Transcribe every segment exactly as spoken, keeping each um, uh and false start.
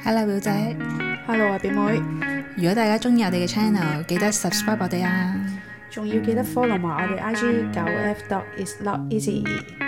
Hello 表姐 Hello 啊表妹， 如果大家中意我哋嘅 channel， 記得 subscribe 我哋啊， 仲要記得 follow 埋我哋 I G 九 F dot is not easy。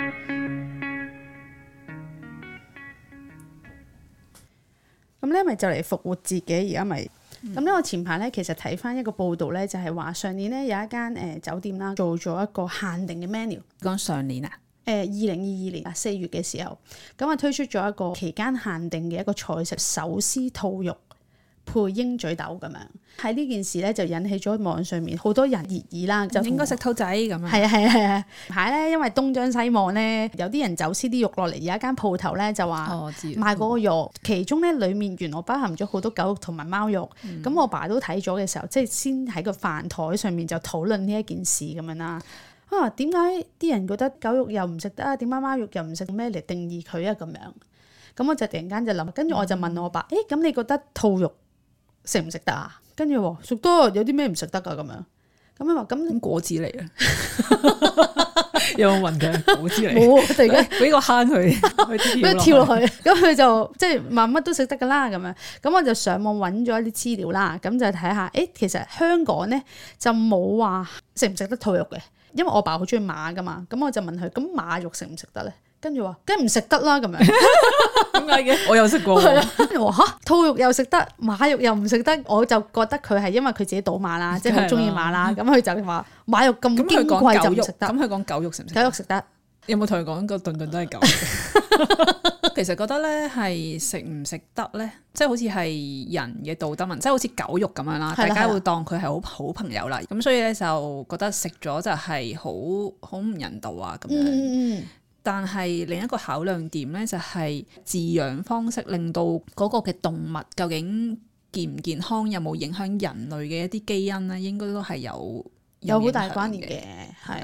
咁咧咪就嚟復活節嘅，而家咪咁咧。我前排咧其實睇翻一個報道咧，就係話上年咧有一間誒、呃、酒店啦，做咗一個限定嘅 menu。 講上年啊？ 誒二零二二年啊四月嘅時候，咁啊推出咗一個期間限定嘅一個菜式手撕兔肉配鷹嘴豆咁樣。喺呢件事咧就引起咗網上面好多人熱議啦，就應該食兔仔咁樣。 係啊係啊係啊！排咧因為東張西望咧，有啲人走私啲肉落嚟，有一間鋪頭咧就話賣嗰個肉，其中咧裡面原來包含咗好多狗肉同埋貓肉。咁、嗯、我爸都睇咗嘅時候，即係先喺個飯台上面就討論呢一件事咁樣啦。啊，點解啲人覺得狗肉又唔食得啊？點解貓肉又唔食？咩嚟定義佢啊？咁樣，咁我就突然間就諗，跟住我就問我爸：誒、欸，咁你覺得兔肉食唔食得啊？跟住話食得，有啲咩唔食得噶？咁樣，咁佢話咁果子嚟啊？有冇問佢果子嚟？ 冇，突然間俾個坑佢，俾佢跳落去，咁佢就即係話乜都食得噶啦。咁樣，咁我就上網揾咗一啲資料啦，咁就睇下，誒、欸，其實香港咧就冇話食唔食得兔肉嘅。因為我爸好中意馬噶嘛，咁我就問佢：咁馬肉食唔食得咧？跟住話：梗係唔食得啦。咁樣點解嘅？我有食過。跟住話嚇，兔肉又食得，馬肉又唔食得，我就覺得佢係因為佢自己賭馬啦，即係好中意馬啦。咁佢就話馬肉咁矜貴就唔食得。 咁佢講狗肉食唔食？ 狗肉食得。有冇同佢講個頓頓都係狗肉？其實覺得咧係食唔食得咧，即係好似係人嘅道德問題，即係好似狗肉咁樣啦，大家會當佢係好好朋友啦，咁所以咧就覺得食咗就係好好唔人道啊咁樣。嗯嗯，但係另一個考量點咧就係飼養方式令到嗰個嘅動物究竟健唔健康，有冇影響人類嘅一啲基因咧，應該都係有有好大關聯嘅，係。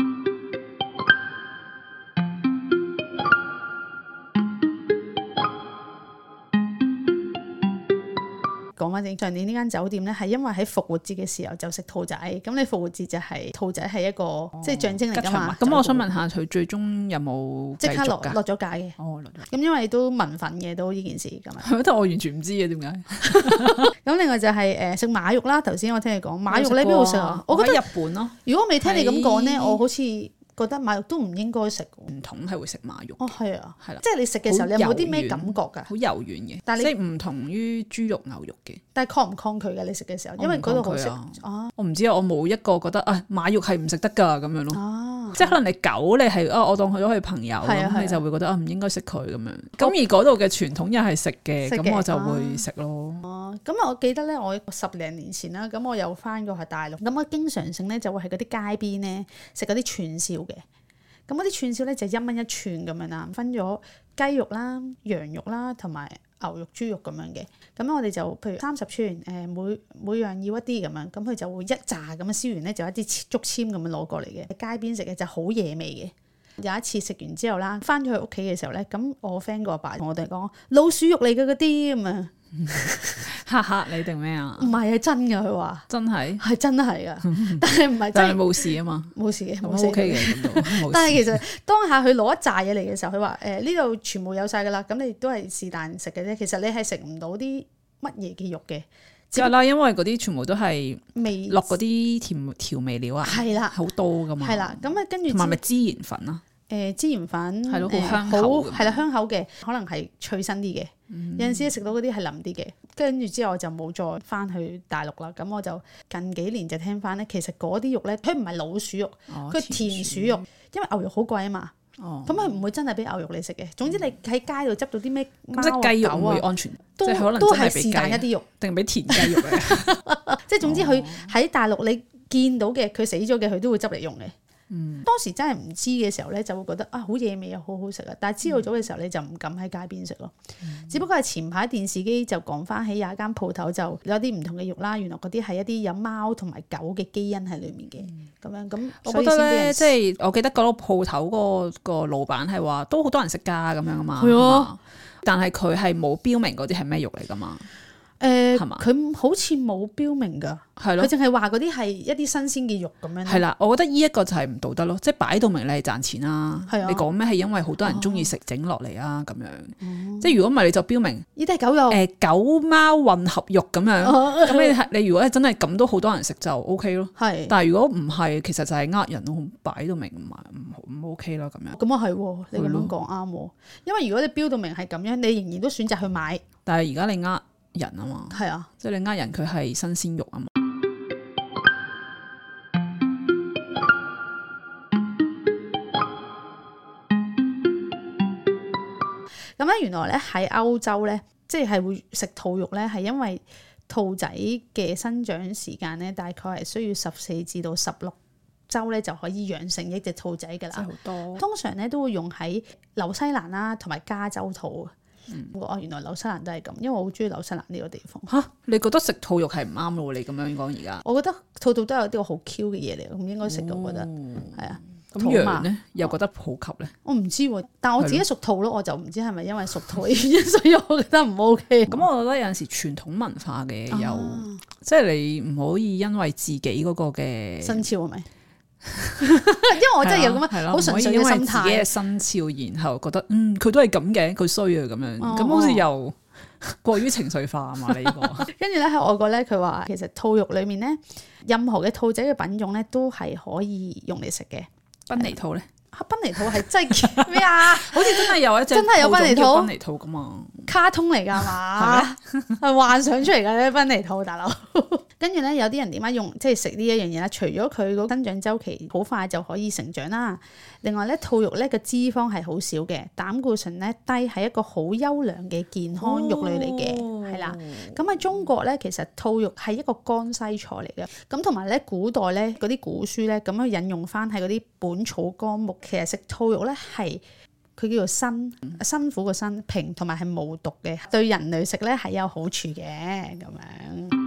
講翻正，上年呢間酒店咧係因為喺復活節嘅時候就食兔仔，咁你復活節就係、是、兔仔係一個、哦、即係象徵嚟噶嘛。咁我想問下佢最終有冇即刻落落咗架嘅？哦，落咗。咁因為都民憤嘅都呢件事咁樣。但我完全唔知嘅點解。咁另外就係誒食馬肉啦，頭先我聽你講馬肉咧邊度食啊？我覺得日本咯。如果未聽你咁講咧，我好似覺得馬肉都唔應該食，唔同係會食馬肉。哦，係啊，係啦，即係你食嘅時候，你有冇啲咩感覺㗎？好柔軟嘅，但係即係唔同於豬肉、牛肉嘅。但係抗唔抗拒嘅？你食嘅時候，因為嗰度好食啊。我唔知啊，我冇一個覺得啊馬肉係唔食得㗎咁樣咯。啊，即係可能你狗你係啊，我當佢咗佢朋友咁，你就會覺得啊唔應該食佢咁樣。咁而嗰度嘅傳統又係食嘅，咁我就會食咯。哦，咁我記得咧，我十零年前啦，咁我有翻過係大陸，咁我經常性咧就會喺嗰啲街邊咧食嗰啲串燒。嘅，咁嗰啲串燒咧就一蚊一串咁樣啦，分咗雞肉啦、羊肉啦同埋牛肉、豬肉咁樣嘅。咁我哋就譬如三十串，誒每每樣要一啲咁樣，咁佢就會一紮咁樣燒完咧，就一啲竹籤咁樣攞過嚟嘅。街邊食嘅就好野味嘅。有一次食完之後啦，翻咗去屋企嘅時候咧，咁我 friend 個阿爸同我哋講老鼠肉嚟嘅嗰啲咁啊。嚇嚇你定咩啊？唔係啊，真噶，佢話真係係真係噶，但係唔係真係冇事啊嘛，冇事嘅，冇事嘅。但係其實當下佢攞一紮嘢嚟嘅時候，佢話誒呢度全部有晒噶啦，咁你都係是但食嘅啫。其實你係食唔到啲乜嘢嘅肉嘅，係啦，因為嗰啲全部都係味落嗰啲甜調味料啊，係啦，好多噶嘛，係啦，咁啊跟住同埋咪孜然粉啊。誒孜然粉係咯，好香口，係啦香口嘅，可能係脆身啲嘅。嗯、有陣時食到嗰啲係腍啲嘅，跟住之後我就冇再翻去大陸啦。咁我就近幾年就聽翻咧，其實嗰啲肉咧，佢唔係老鼠肉，佢、哦、甜鼠肉，因為牛肉好貴啊嘛。哦，咁佢唔會真係俾牛肉你食嘅。總之你喺街度執到啲咩貓啊狗啊，會安全，都即係可能都係是但一啲肉，定係俾田雞肉嘅。即係總之佢喺大陸你見到嘅，佢死咗嘅，佢都會執嚟用嘅。嗯，當時真係唔知嘅時候咧，就會覺得啊好野味又好好食啊！但係知道咗嘅時候，你就唔敢喺街邊食咯。嗯、只不過係前排電視機就講翻起有一間鋪頭就有啲唔同嘅肉啦，原來嗰啲係一啲有貓同埋狗嘅基因喺裡面嘅。咁、嗯、樣咁，我覺得咧，即係我記得嗰個鋪頭個個老闆係話都好多人食㗎咁樣啊嘛。係啊，但係佢係冇標明嗰啲係咩肉嚟㗎嘛。 誒， 係嘛？ 佢好似冇標明㗎，係咯，佢淨係話嗰啲係一啲新鮮嘅肉咁樣。係啦， 我覺得呢一個就係唔道德咯，即係擺到明你係賺錢啦。係啊，你講咩係因為好多人中意食整落嚟啊咁樣。哦、即係如果唔係你就標明呢啲係狗肉，誒、 呃、狗貓混合肉咁樣。咁、哦、你係你如果真係咁都好多人食就 O K 咯。係，但係如果唔係，其實就係呃人咯，擺到明唔唔唔 O K 啦咁樣。 咁啊係，你咁樣講啱。因為如果你標到明係咁樣，你仍然都選擇去買。 但係而家你呃人啊嘛， 係啊， 即係你呃人佢係新鮮肉啊嘛。 咁咧，原來咧喺歐洲咧，即係會食兔肉咧，係因為兔仔嘅生長時間咧，大概係需要十四至到十六週咧就可以養成一隻兔仔噶啦。好多，通常咧都會用喺紐西蘭啦，同埋加州兔。嗯、哦，原來紐西蘭都係咁，因為我好中意紐西蘭呢個地方。 吓，你覺得食兔肉係唔啱咯？你咁樣講而家， 我覺得兔兔都有啲好 Q 嘅嘢嚟，咁應該食嘅。我覺得係啊。 咁羊咧又覺得普及咧？ 我唔知喎，但我自己屬兔咯，我就唔知係咪因為屬兔嘅原因，所以我覺得唔 OK。 咁我覺得有陣時傳統文化嘅又，啊、即係你唔可以因為自己嗰個嘅生肖係咪？因為我真係有咁樣好純粹嘅心態，自己嘅生肖，然後覺得嗯佢都係咁嘅，佢衰啊咁樣，咁、哦、好似又過於情緒化啊嘛？你呢個跟住咧喺外國咧，佢話其實兔肉裡面咧，任何嘅兔仔嘅品種咧都係可以用嚟食嘅。賓尼兔咧？啊，賓尼兔係真係咩啊？好似真係有一隻真係有賓尼兔，賓尼兔噶嘛？卡通嚟噶嘛？係咩？係幻想出嚟噶咧，賓尼兔大佬。跟住咧，有啲人點解用即係食呢一樣嘢咧？除咗佢個增長週期好快就可以成長啦，另外咧，兔肉咧個脂肪係好少嘅，膽固醇咧低，係一個好優良嘅健康肉類嚟嘅，係啦、哦。咁喺中國咧，其實兔肉係一個江西菜嚟嘅。咁同埋咧，古代咧嗰啲古書咧咁樣引用翻喺嗰啲《本草綱目》，其實食兔肉咧係佢叫做辛，辛苦個辛，平同埋係無毒嘅，對人類食咧係有好處嘅咁樣。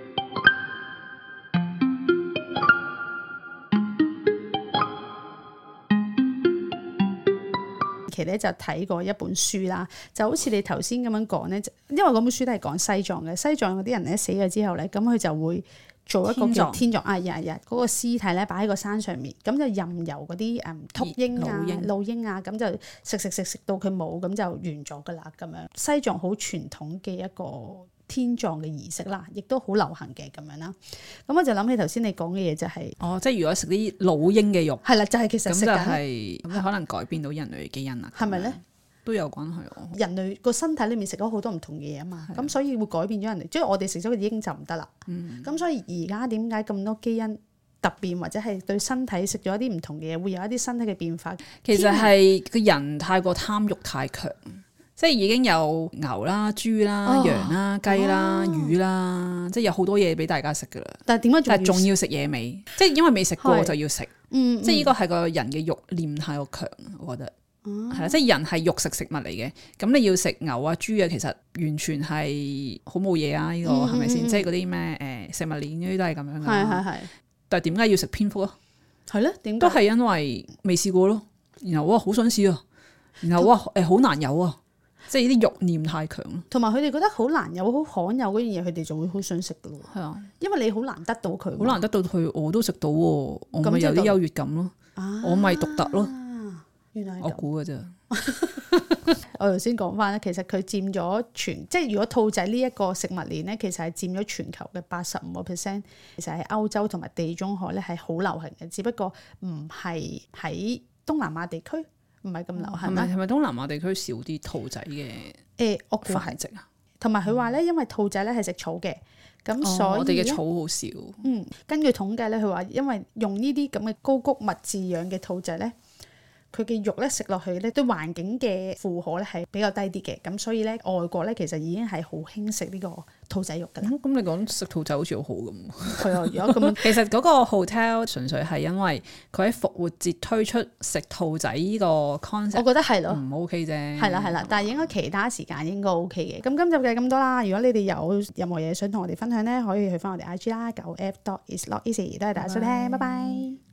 其實咧就睇過一本書啦，就好似你頭先咁樣講咧，因為嗰本書都係講西藏嘅，西藏嗰啲人咧死咗之後咧，咁佢就會做一個叫天葬啊，日日嗰個屍體咧擺喺個山上面，咁就任由嗰啲誒禿鷹啊、老鷹啊，咁就食食食食到佢冇，咁就完咗噶啦咁樣。西藏好傳統嘅一個天葬嘅儀式啦，亦都好流行嘅咁樣啦。咁我就諗起頭先你講嘅嘢就係、是，哦，即係如果食啲老鷹嘅肉，係啦，就係、是、其實食緊，咁就係咁可能改變到人類嘅基因啦，係咪咧？都有關係哦。人類個身體裏面食咗好多唔同嘅嘢啊嘛，咁所以會改變咗人類，即係我哋食咗個鷹就唔得啦。咁、嗯、所以而家點解咁多基因突變或者係對身體食咗一啲唔同嘅嘢，會有一啲身體嘅變化？其實係個人太過貪欲太強。即係已經有牛啦、豬啦、哦、羊啦、雞啦、哦、魚啦，即係有好多嘢俾大家食噶啦。但係點解仲仲要食野味？即係因為未食過就要食。嗯，即係呢個係個人嘅慾念太過強，我覺得係啦、嗯。即係人係肉食食物嚟嘅，咁你要食牛啊、豬啊，其實完全係好冇嘢啊！呢、呢個係咪先？即係嗰啲咩誒食物鏈嗰啲都係咁樣噶。係係係。但係點解要食蝙蝠啊？係咧，點都係因為未試過咯。然後哇，好想試啊！然後哇，誒好難有啊！即係呢啲慾念太強咯，同埋佢哋覺得好難有、好罕有嗰樣嘢，佢哋就會好想食噶咯。係啊，因為你好難得到佢，好難得到佢，我都食到喎，我咪有啲優越感咯。啊、我咪獨特咯。原來我估嘅啫。我頭先講翻咧，其實佢佔咗全，即係如果兔仔呢一個食物鏈咧，其實係佔咗全球嘅八十五個 percent。其實喺歐洲同埋地中海咧係好流行嘅，只不過唔係喺東南亞地區。唔係咁流行，係咪係咪東南亞地區少啲兔仔嘅？誒，我估繁殖啊。同埋佢話咧，因為兔仔咧係食草嘅，咁所以、哦、我哋嘅草好少。嗯，根據統計咧，佢話因為用呢啲咁嘅高谷物飼養嘅兔仔咧，佢嘅肉咧食落去咧，對環境嘅負荷咧係比較低啲嘅，咁所以咧外國咧其實已經係好興食呢個兔仔肉㗎啦。咁、嗯、你講食兔仔好似好好咁。係啊，如果咁樣，其實嗰個 hotel 純粹係因為佢喺復活節推出食兔仔呢個 concept，我覺得係咯，唔 OK 啫。係啦係啦，但係應該其他時間應該 OK 嘅。咁今集就係咁多啦。如果你哋有任何嘢想同我哋分享咧，可以去翻我哋 I G 啦，九 F dot is not easy。多謝大家收聽，拜拜。